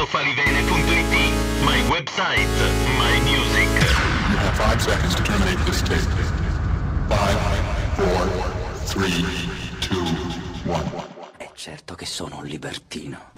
enzofalivene.it, my website, my music. You have 5 seconds to terminate this tape. 5, 4, 3, 2, 1. È certo che sono un libertino.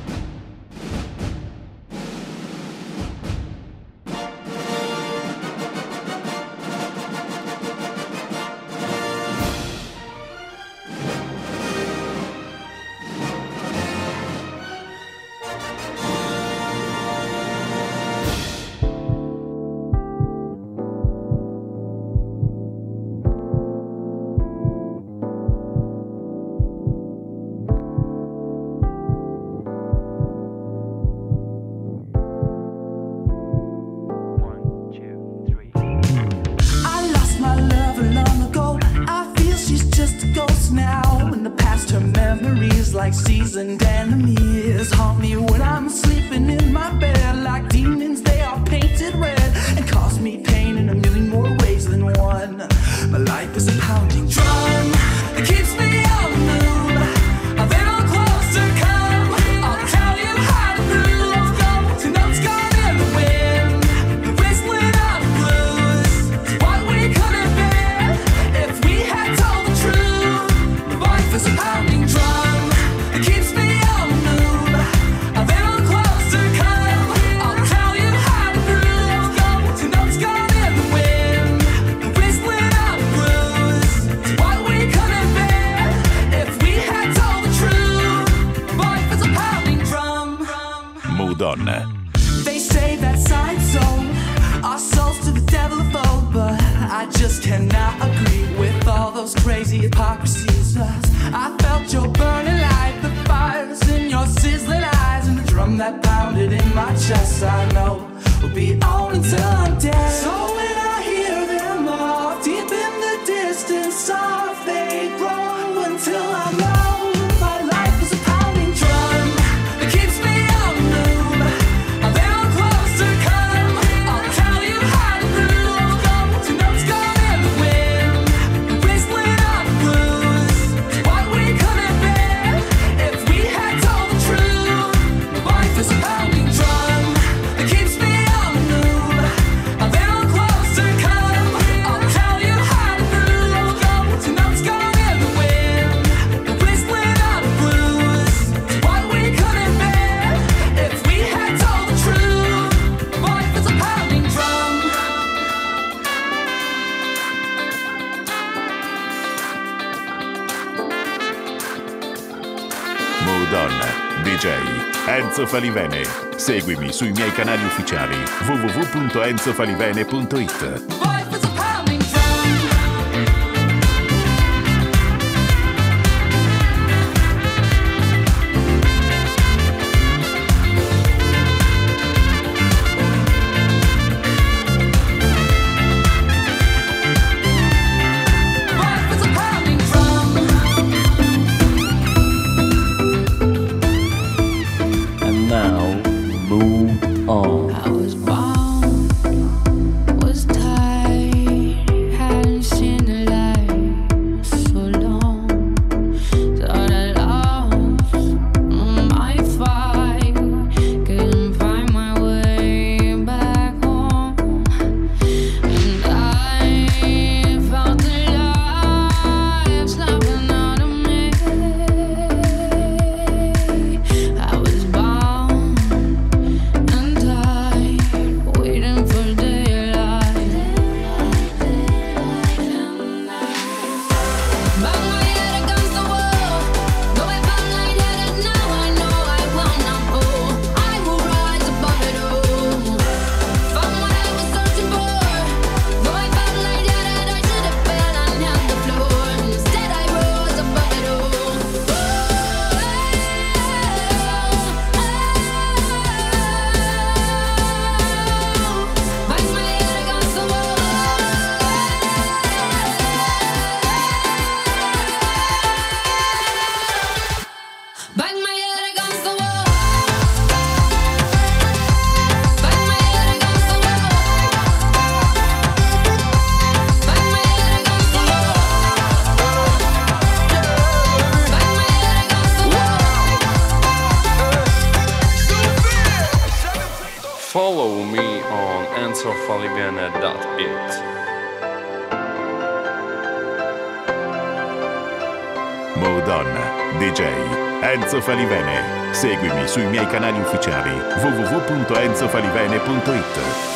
Like seasoned enemies haunt me when I'm sleeping in my bed. Like demons, they are painted red and cause me pain in a million more ways than one. My life is a pounding drum that keeps me on the move. A little closer, come. I'll tell you how to groove. Go to notes gone in the wind. The whistling of the blues is what we could have been if we had told the truth. My life is a pounding drum. Donna. They say that side soul, our souls to the devil of old, but I just cannot agree with all those crazy hypocrisies. I felt your burning light, the fires in your sizzling eyes, and the drum that pounded in my chest. I know will be on until I'm dead. So when I hear them all deep in the distance, soft they grow until I'm lost. DJ Enzo Falivene. Seguimi sui miei canali ufficiali www.enzofalivene.it. I was bound, was tied, hadn't seen the light so long. Thought I lost my fight, couldn't find my way back home. And I felt the life snapping out of me. I was bound and tied. Follow me on enzofalivene.it. Modonna, DJ, Enzo Falivene. Seguimi sui miei canali ufficiali www.enzofalivene.it.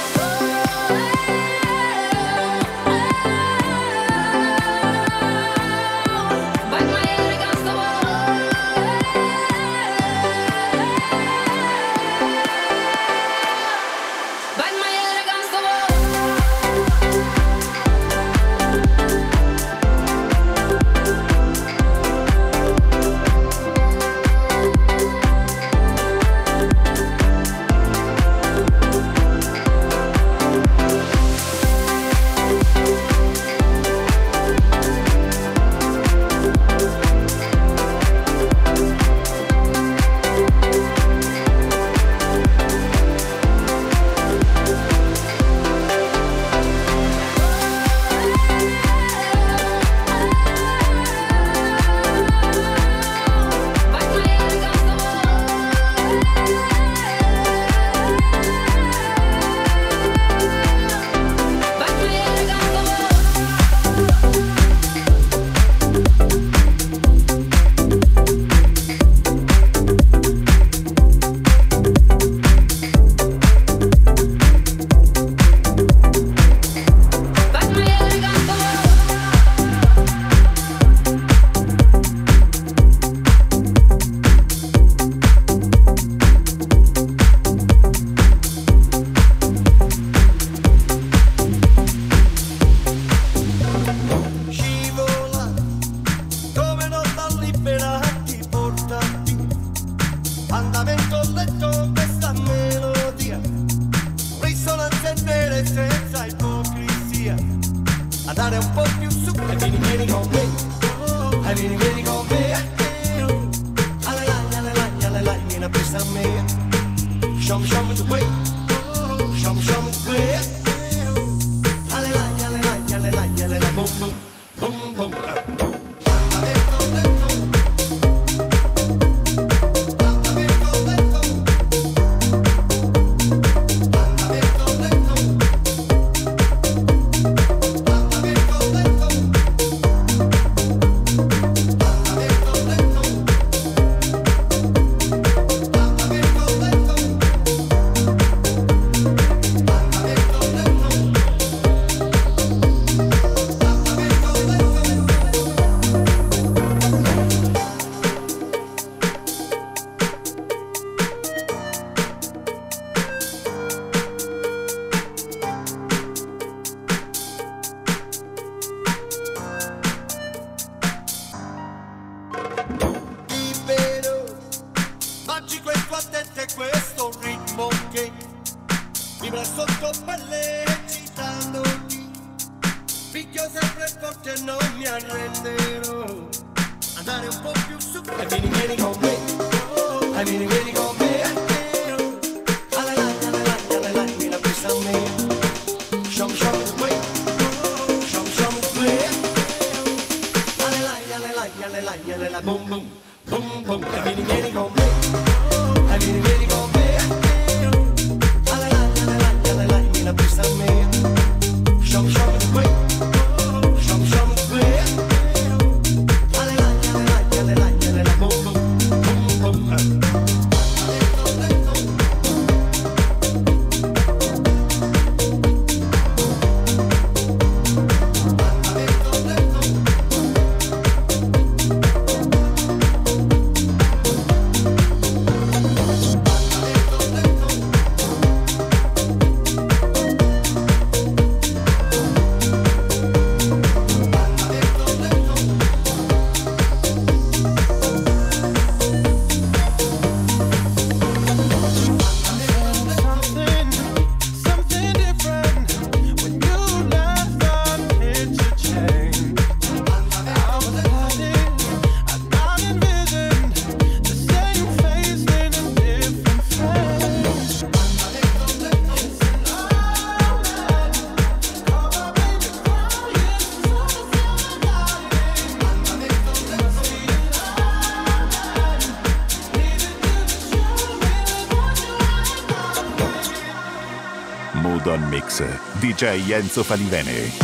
Mood on Mix, DJ Enzo Falivene.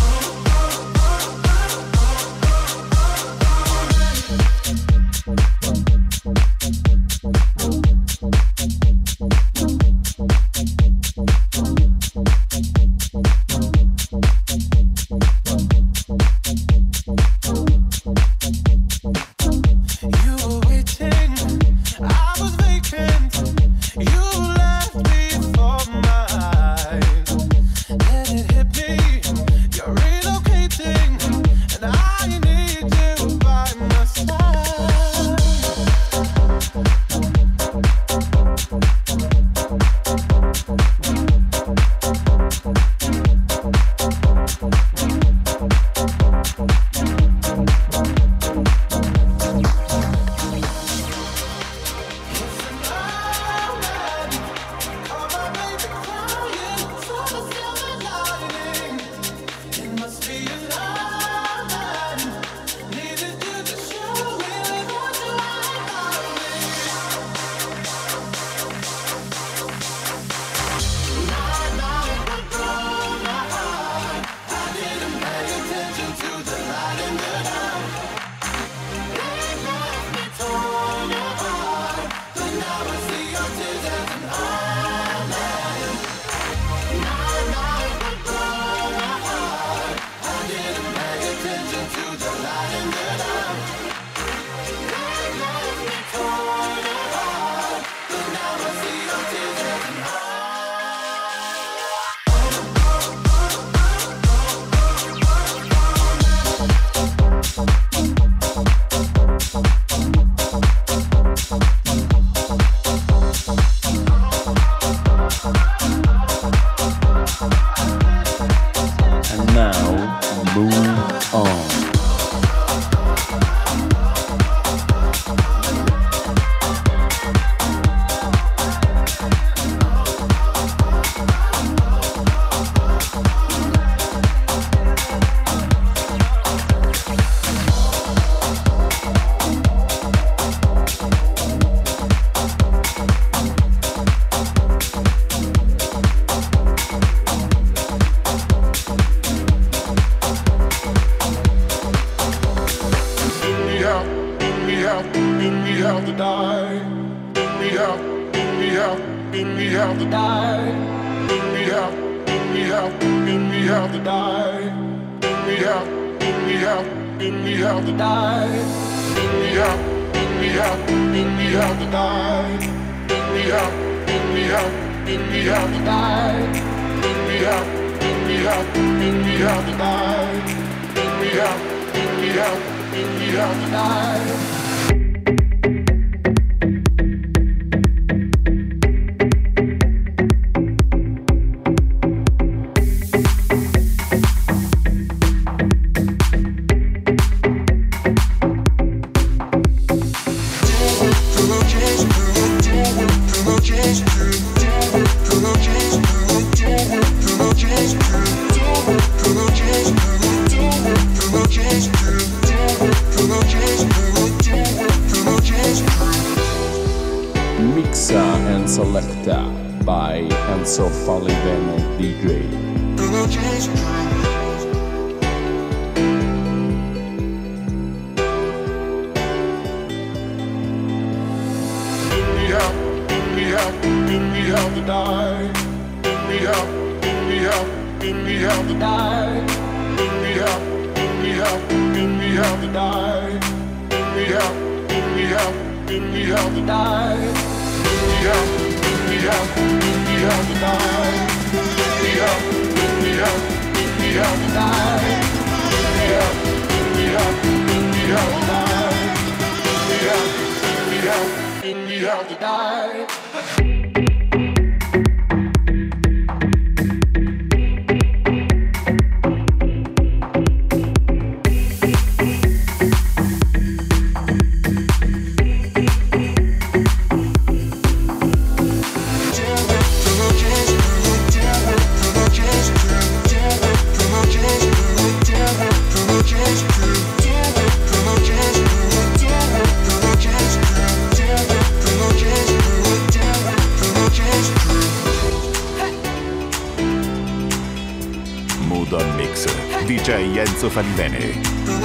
Mixa and Selecta by Enzo Falivene DJ. DJ Enzo Falivene.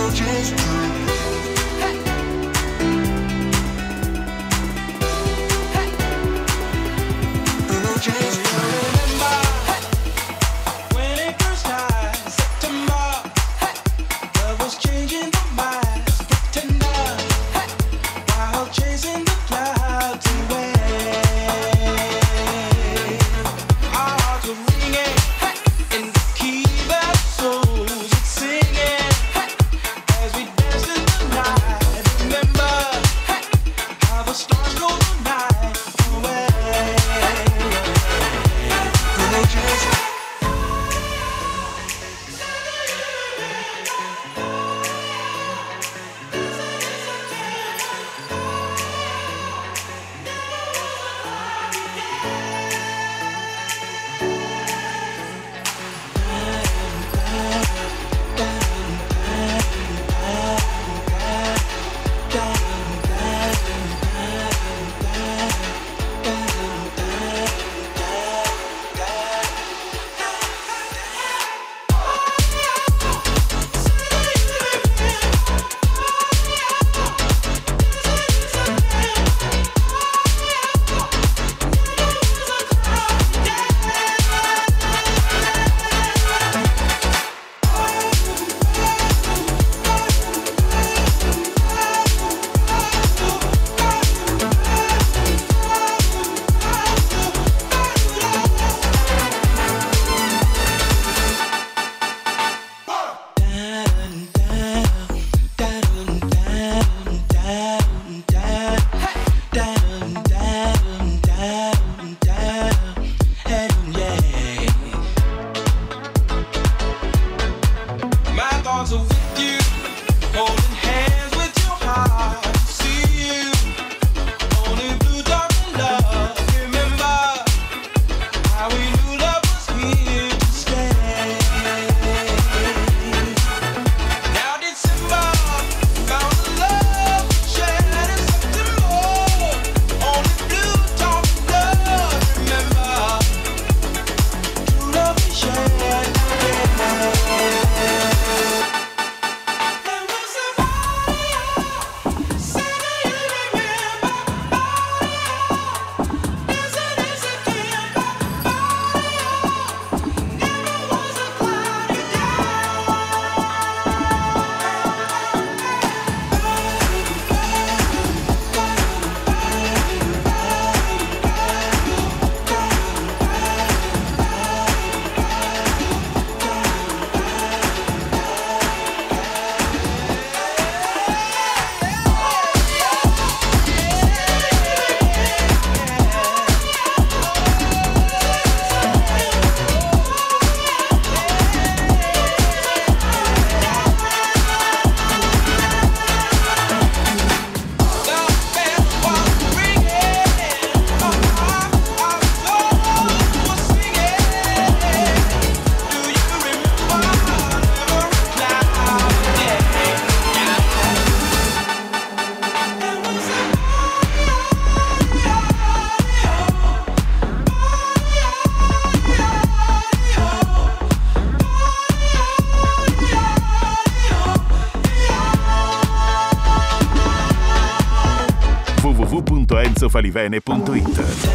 www.enzofalivene.it.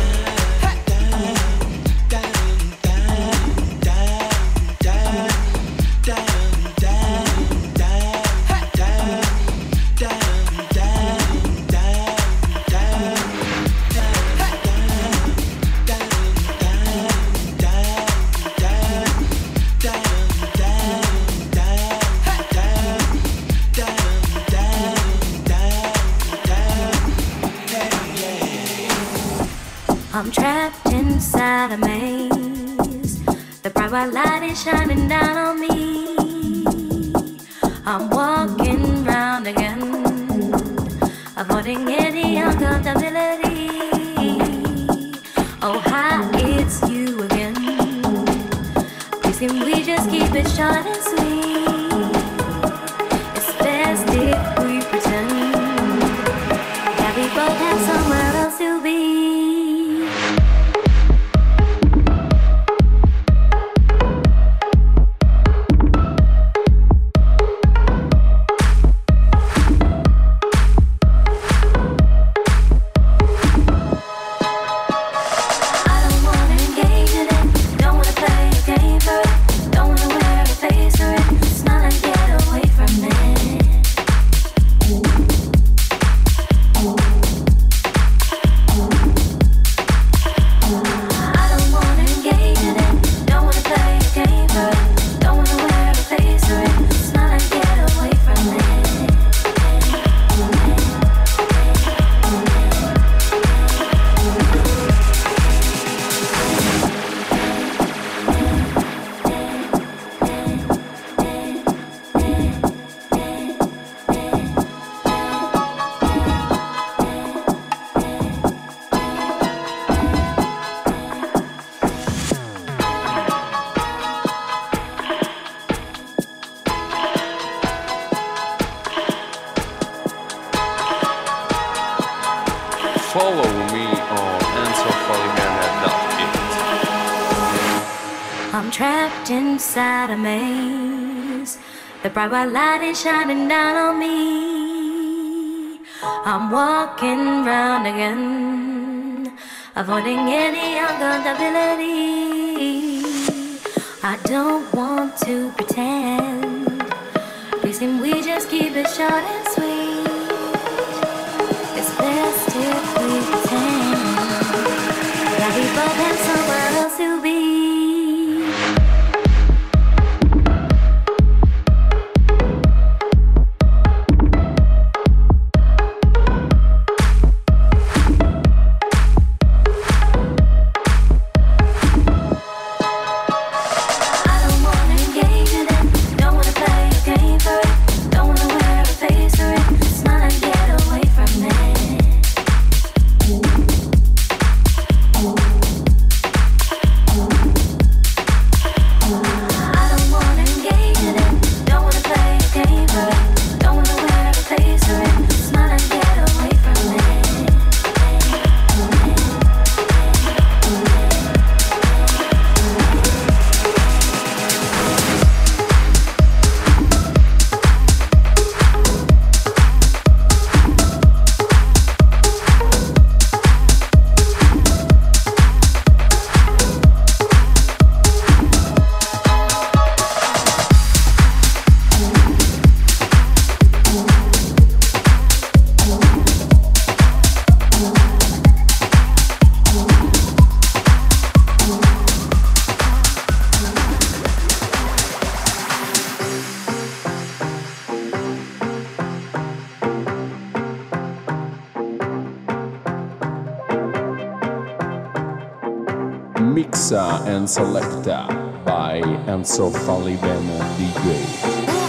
I'm trapped inside a maze. The bright white light is shining down on me. I'm walking round again, avoiding any uncomfortability. Oh, hi, it's you again. Please can we just keep it short and sweet? It's best if we pretend that we both have somewhere else to be. I'm trapped inside a maze. The bright white light is shining down on me. I'm walking round again, avoiding any uncomfortability. I don't want to pretend. Please can we just keep it short and sweet? It's best if we pretend that we both have somewhere else to be. Mixa and Selecta by Enzo Falliven DJ.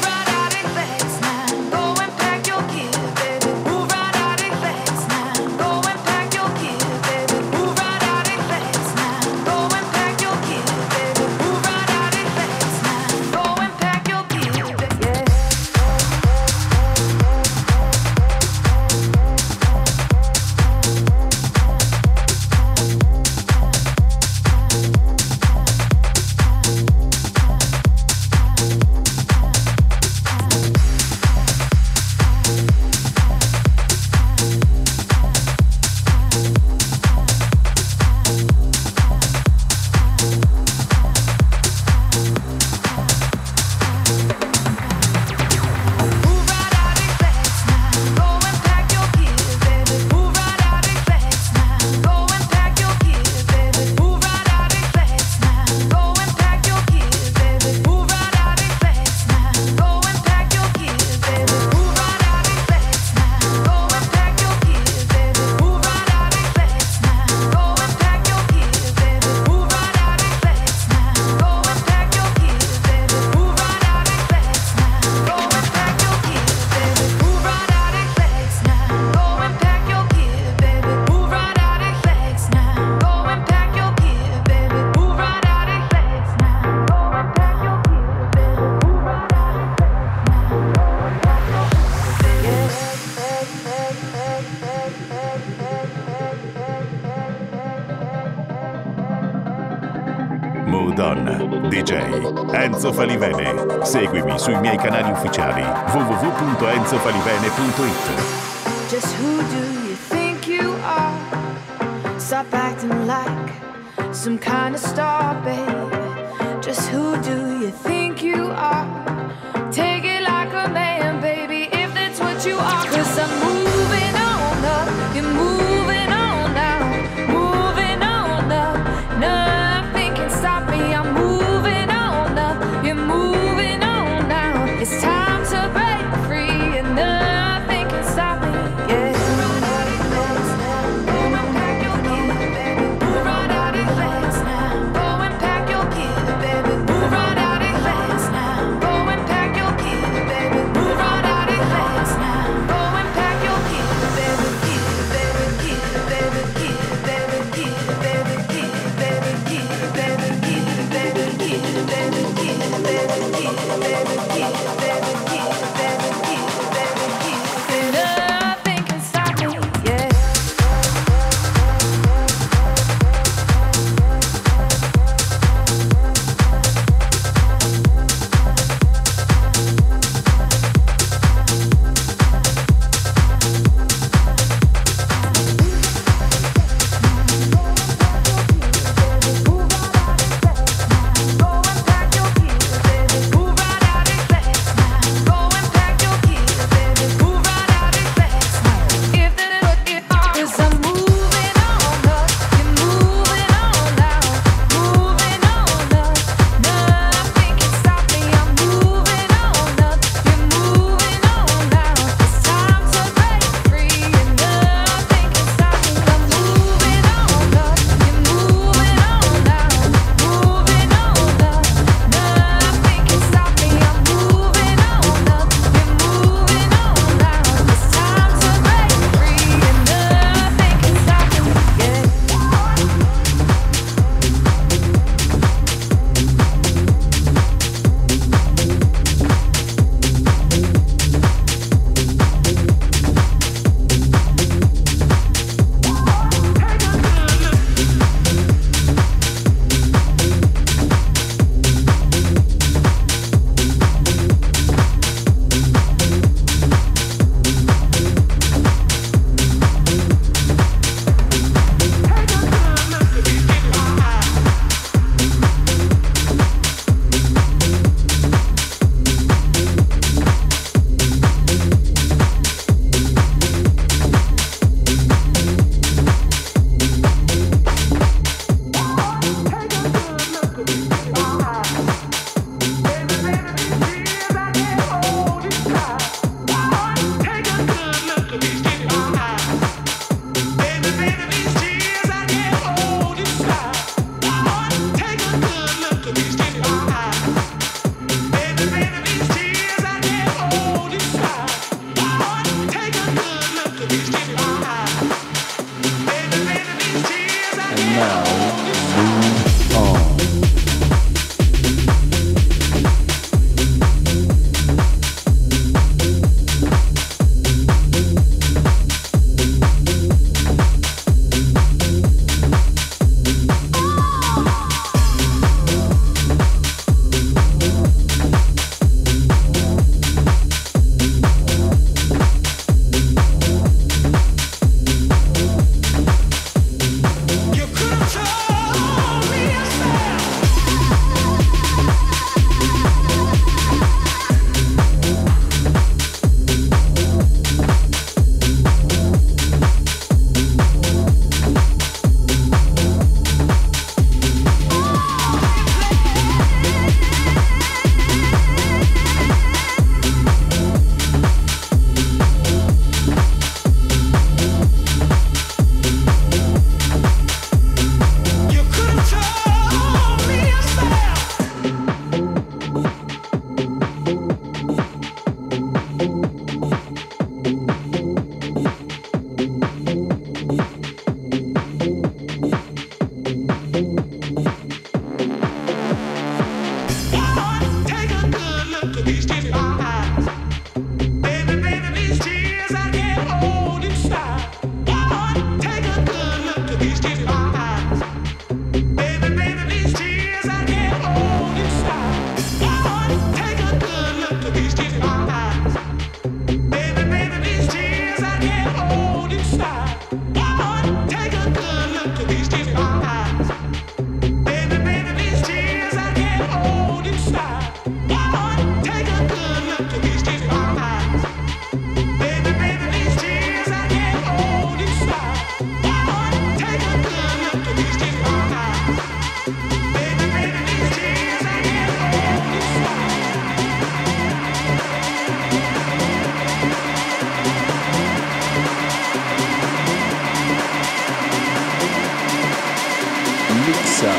DJ Enzo Falivene. Seguimi sui miei canali ufficiali www.enzofalivene.it. Just who do you think you are? Stop acting like some kind of star, babe. Just who do you think you are? Take it like a man, baby, if that's what you are. 'Cause I'm moving on up, you're moving on now, moving on up. Nothing can stop me, I'm moving on up, you're moving on now. It's time to break free and nothing can stop me, yeah. Move right out of fast now. Go and pack your gear, baby. Move right out of fast.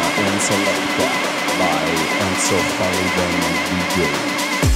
and Selecta by Enzo Falivene DJ.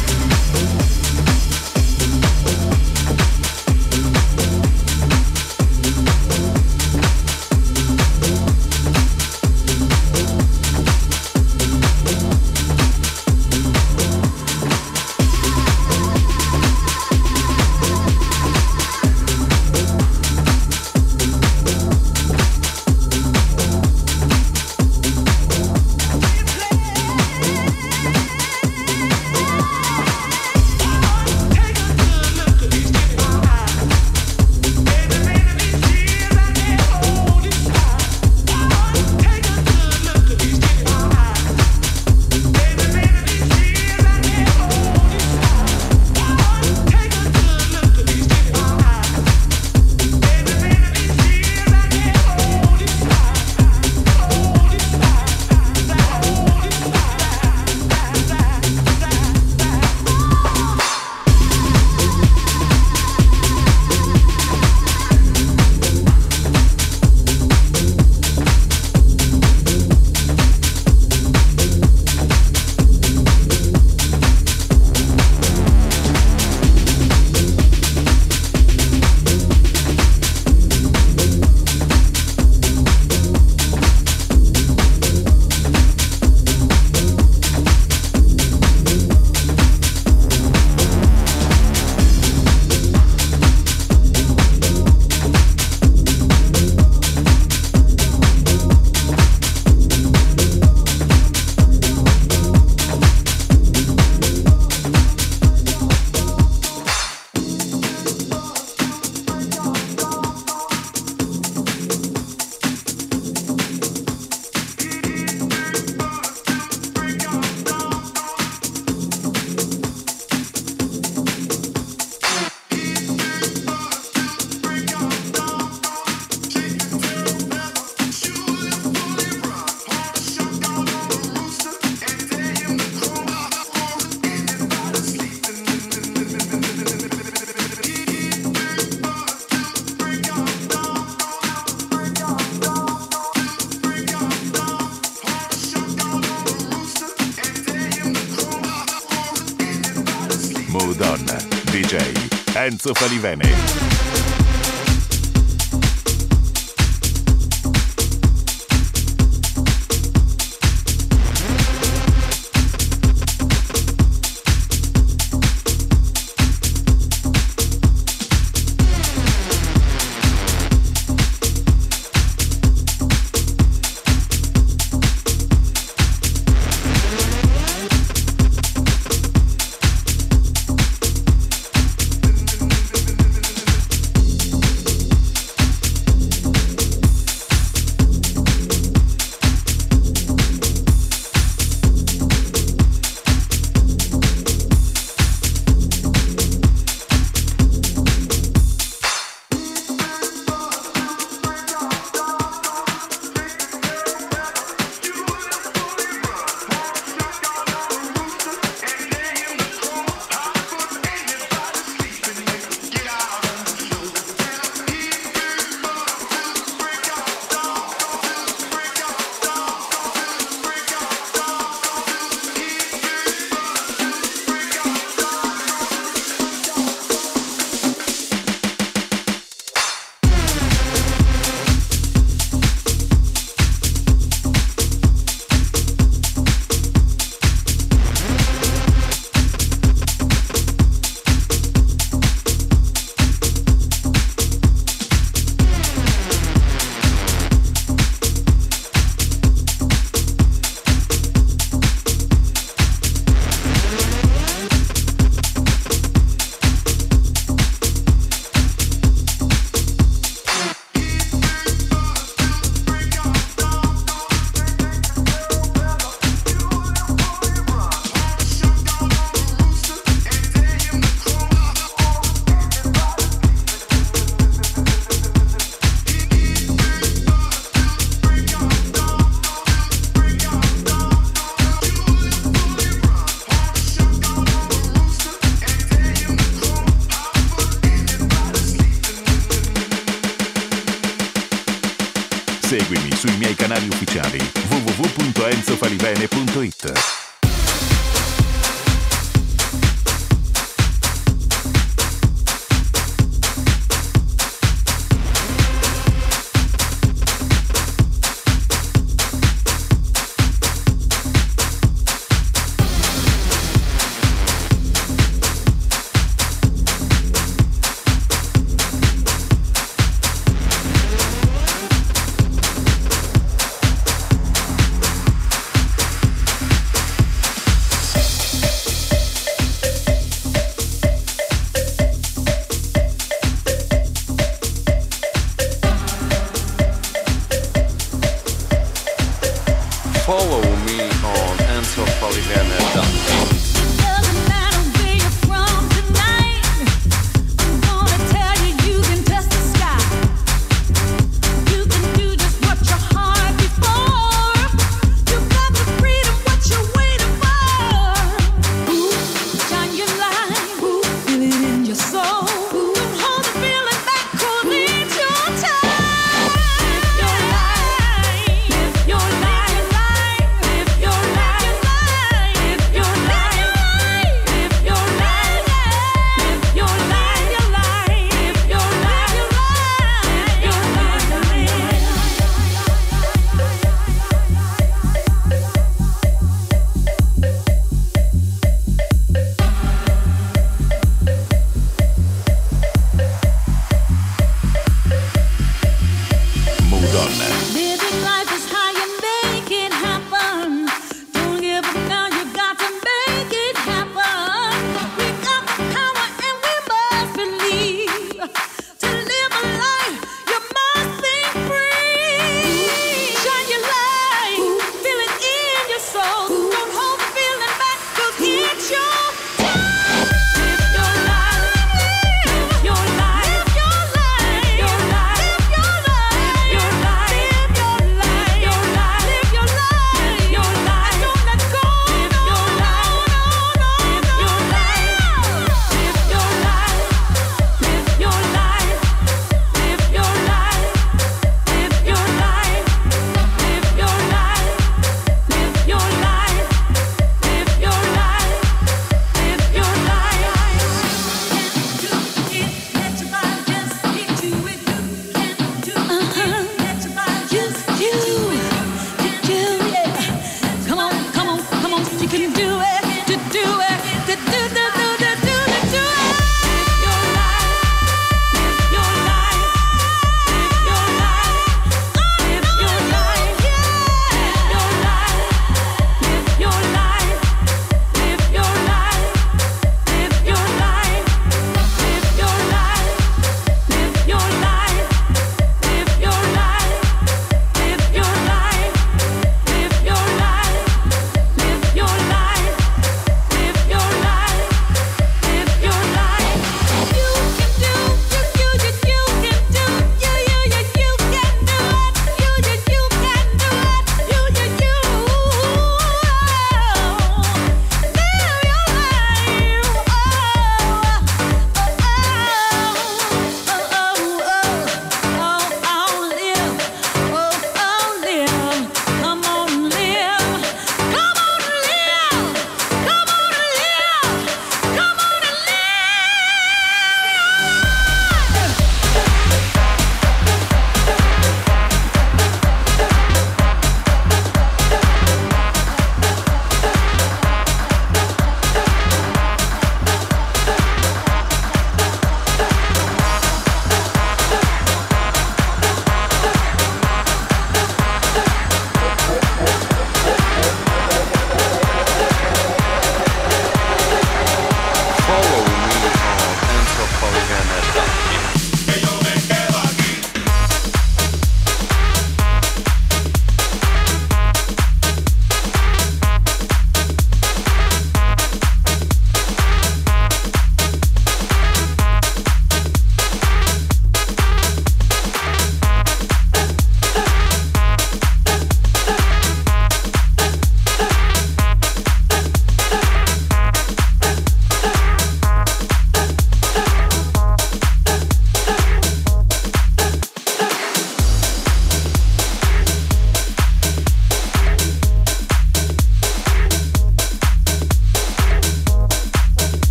Mood On, DJ Enzo Falivene. sui miei canali ufficiali www.enzofalivene.it. Follow me on enzofalivene.it. Your life, if your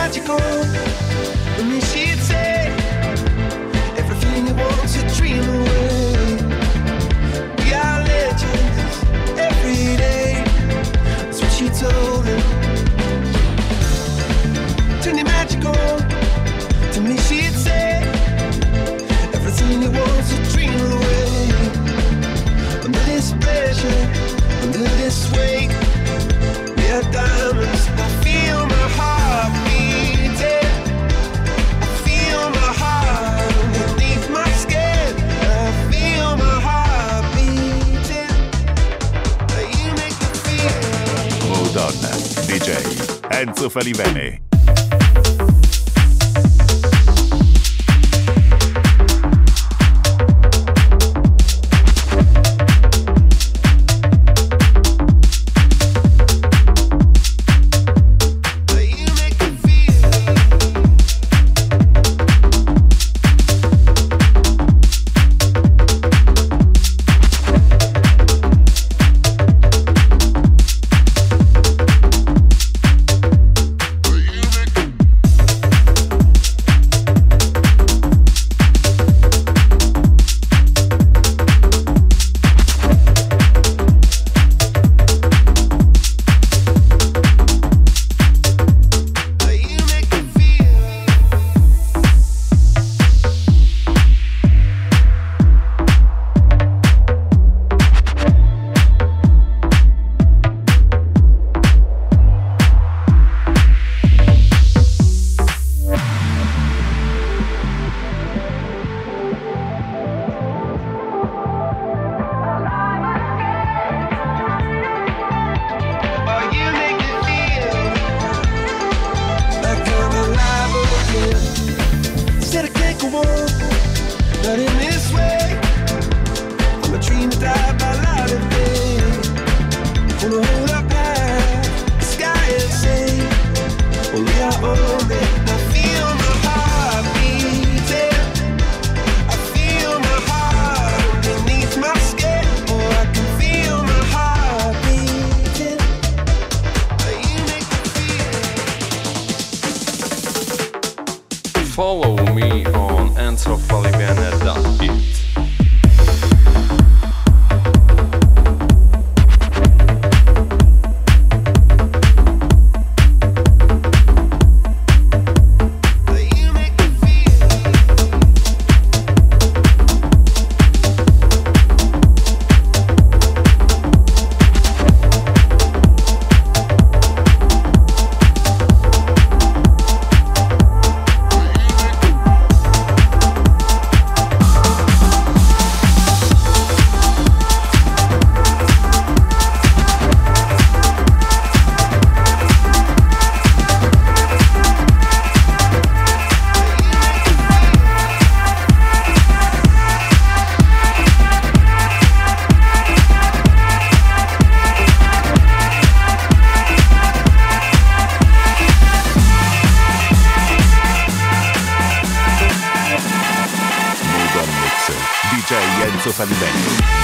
magical. I mean, she'd say everything you want to dream away. We are legends every day. That's what she told him. Turn it magical. To me, she'd say everything you want to dream away. Under this pressure, under this weight, we are diamonds. I feel my heart beating. I feel my heart underneath my skin. I feel my heart beating. You make me feel. Hold on, DJ Enzo Falivene. Follow me on enzofalivene.it. DJ Enzo Falivene.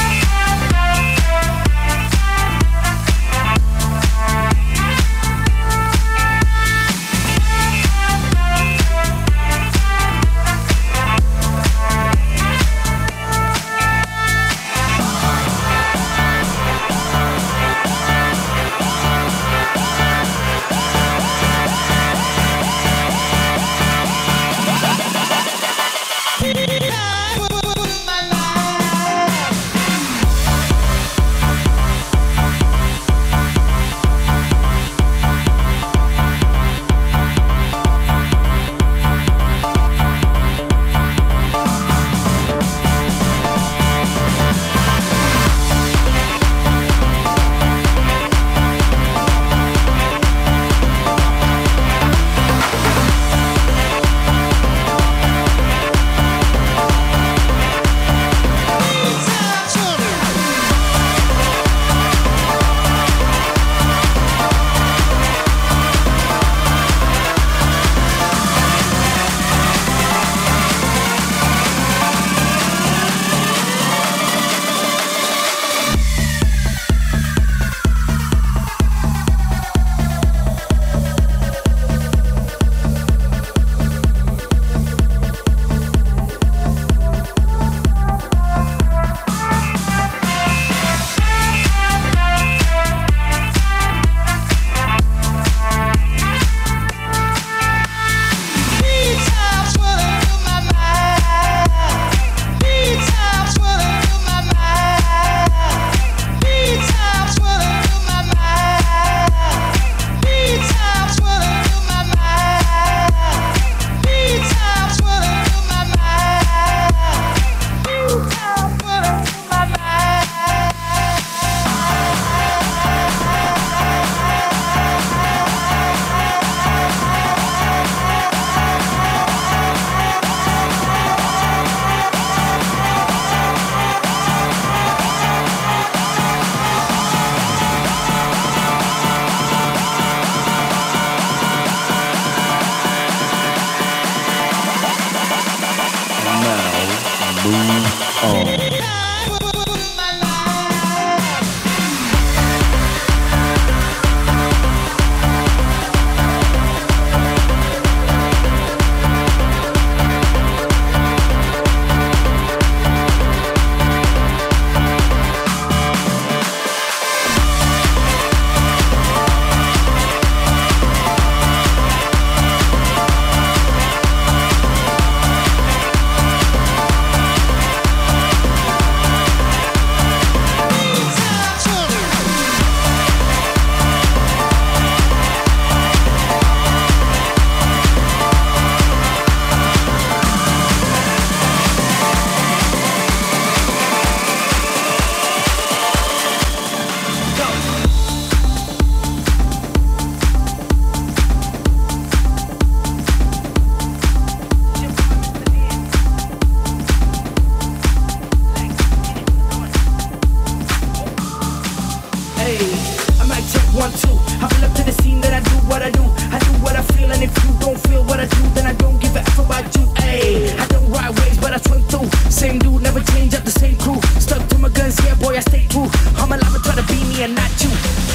do. I do what I feel, and if you don't feel what I do, then I don't give a F about you. Ayy, I don't ride waves, but I swim through. Same dude, never change up the same crew. Stuck to my guns, yeah, boy, I stay true. I'm alive and try to be me and not you.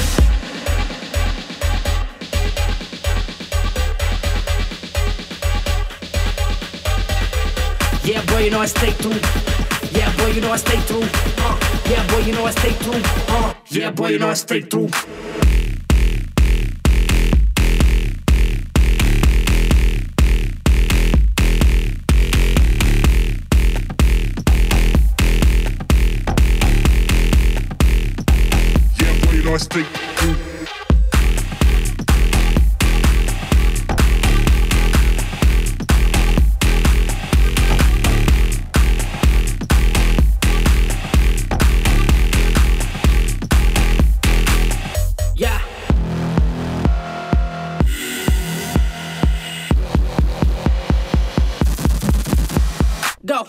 Yeah, boy, you know I stay true. Yeah, boy, you know I stay true. Yeah, boy, you know I stay true. Yeah, boy, you know I stay true. I stay true. Yeah. Go.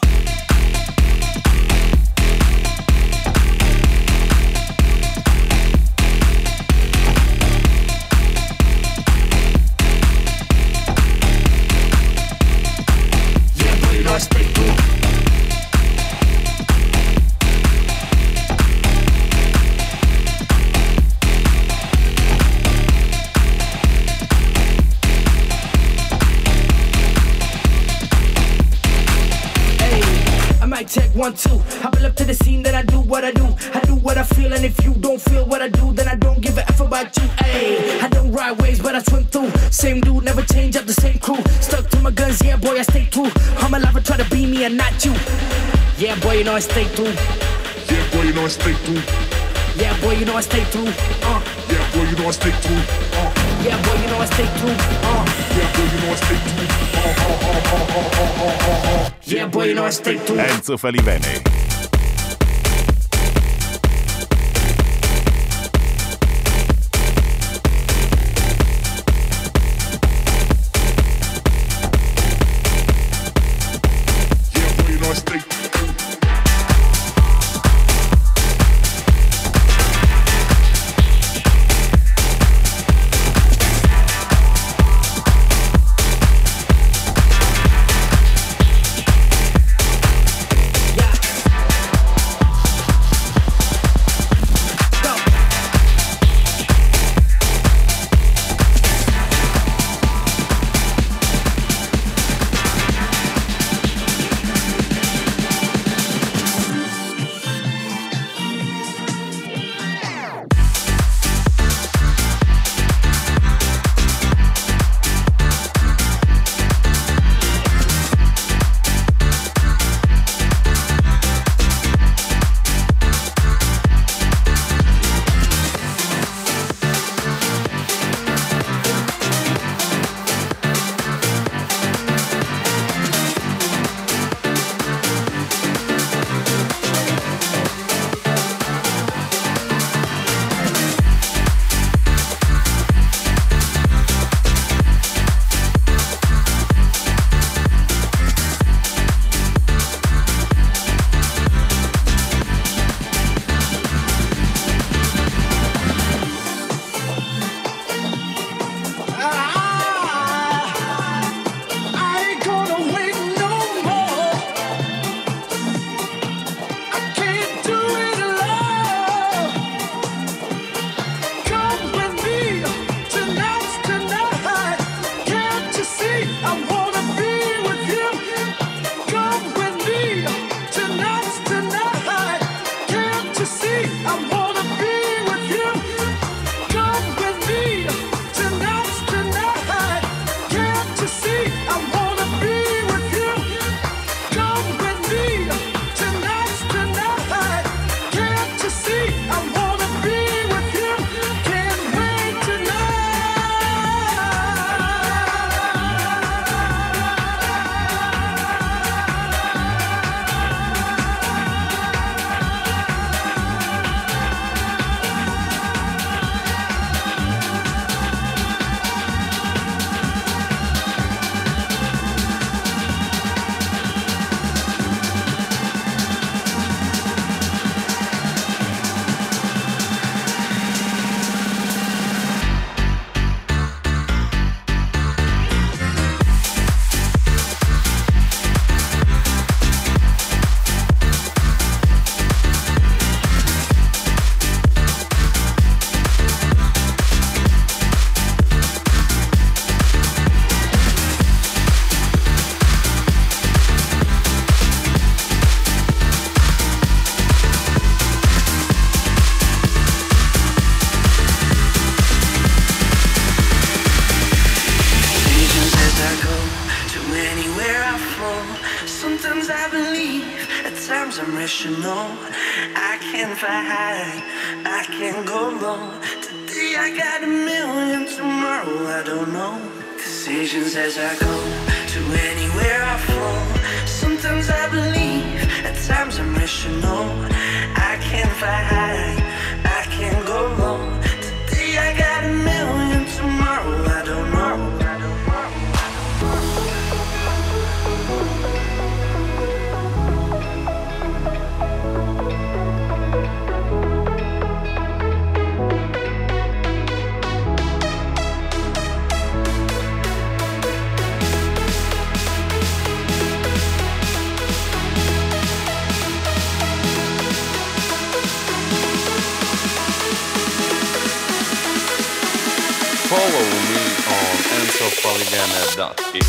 Check 1, 2. I pull up to the scene, then I do what I do. I do what I feel, and if you don't feel what I do, then I don't give a F about you. Ayy, I don't ride waves, but I swim through. Same dude, never change up the same crew. Stuck to my guns, yeah, boy, I stay true. I'm alive and try to be me and not you. Yeah, boy, you know I stay true. Yeah, boy, you know I stay true. Yeah, boy, you know I stay true. Yeah, boy, you know I stay true. Yeah, boy, you know I stay true. Yeah, boy, you know I stay true. Yeah, boy, you know I stay true. Enzo Falivene. times I'm rational. I can fly high, I can go low. Today I got a million, tomorrow I don't know. Decisions as I go to anywhere I flow. Sometimes I believe, at times I'm rational. I can fly high, I can go low. Today I got a million, tomorrow I don't know. Follow me on enzofalivene.it.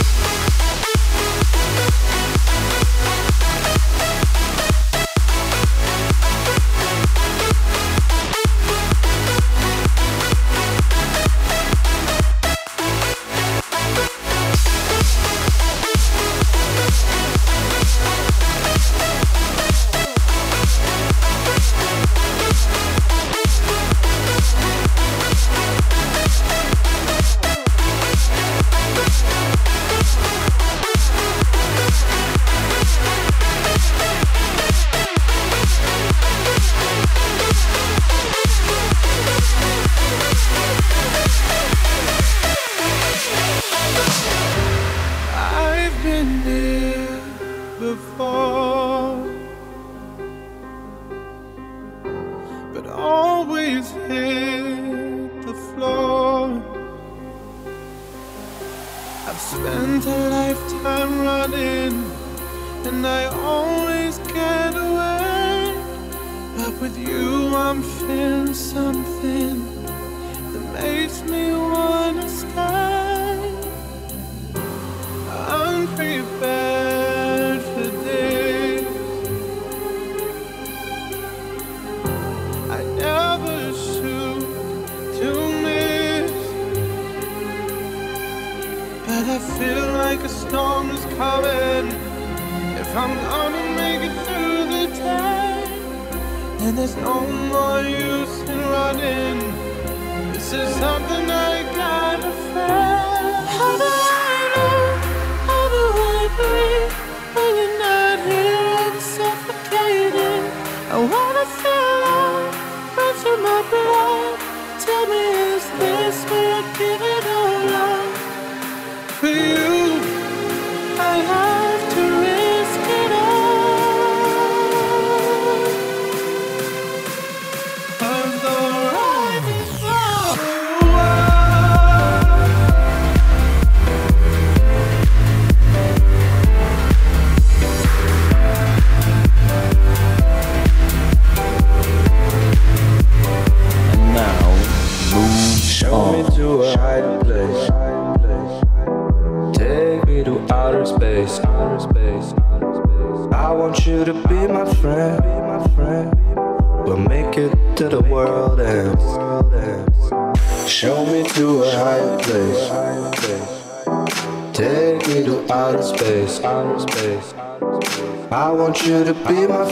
I want you to be my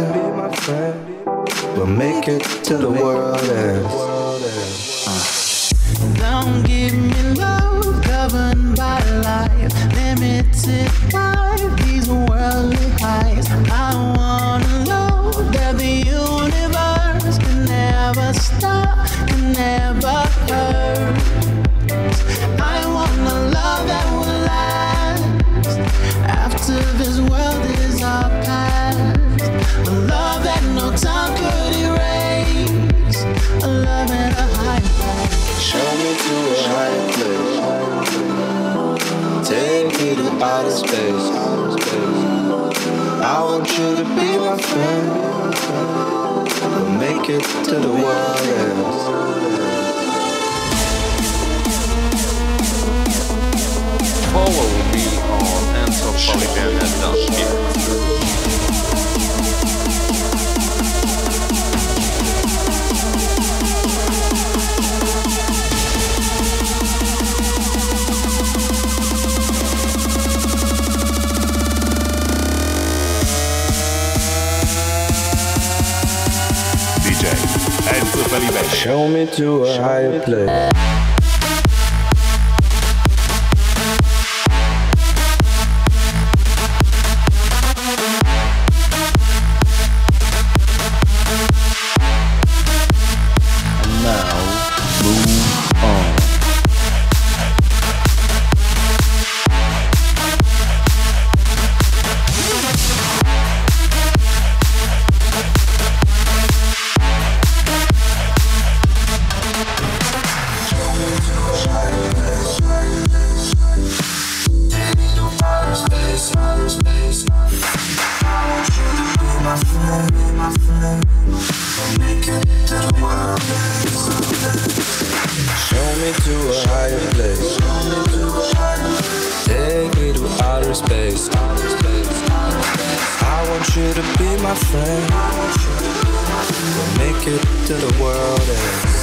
friend. We'll make it to the world ends. Don't give me love governed by life, limited by these worldly highs. I wanna know that the universe can never stop, can never hurt. I want a love that will last after this world is our past. A love that no time could erase. A love at a high price. Show me to a higher place. Take me to outer space. I want you to be my friend. We'll make it to the world ends. Follow me on enzofalivene.it. Show me to a higher place. Show me to a higher place. Take me to outer space. I want you to be my friend. We'll make it to the world ends.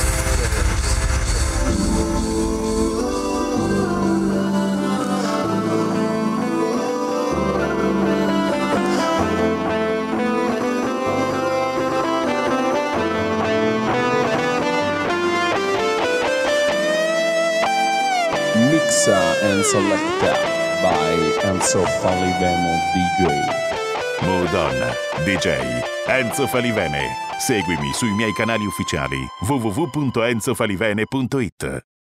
Mixa and Selecta by Enzo Falivene DJ. Mood On, DJ Enzo Falivene. Seguimi sui miei canali ufficiali www.enzofalivene.it.